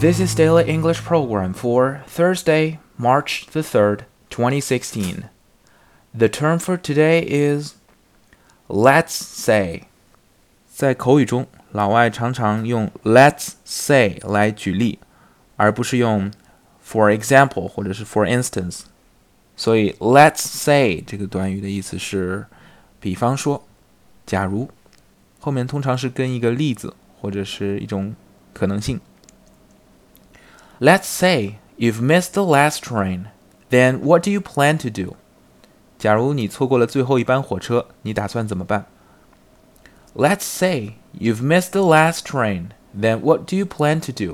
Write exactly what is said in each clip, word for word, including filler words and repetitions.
This is Daily English Program for Thursday, March the third, twenty sixteen. The term for today is let's say. 在口语中，老外常常用 let's say 来举例，而不是用 for example 或者是 for instance。所以 let's say 这个短语的意思是比方说，假如，后面通常是跟一个例子或者是一种可能性。Let's say you've missed the last train. Then what do you plan to do? 假如你错过了最后一班火车，你打算怎么办？ Let's say you've missed the last train. Then what do you plan to do?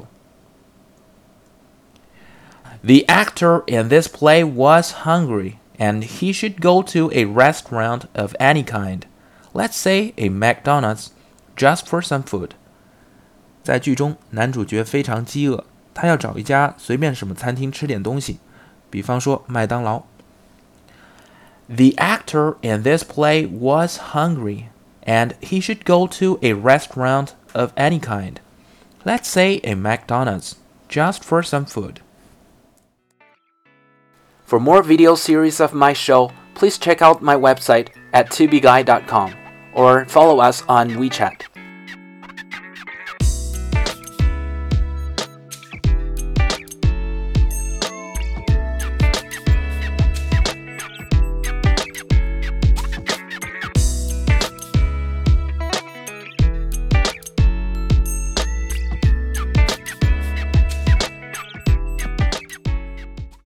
The actor in this play was hungry, and he should go to a restaurant of any kind. Let's say a McDonald's, just for some food. 在剧中，男主角非常饥饿，他要找一家随便什么餐厅吃点东西，比方说麦当劳。The actor in this play was hungry, and he should go to a restaurant of any kind. Let's say a McDonald's, just for some food. For more video series of my show, please check out my website at tubeguy dot com or follow us on WeChat.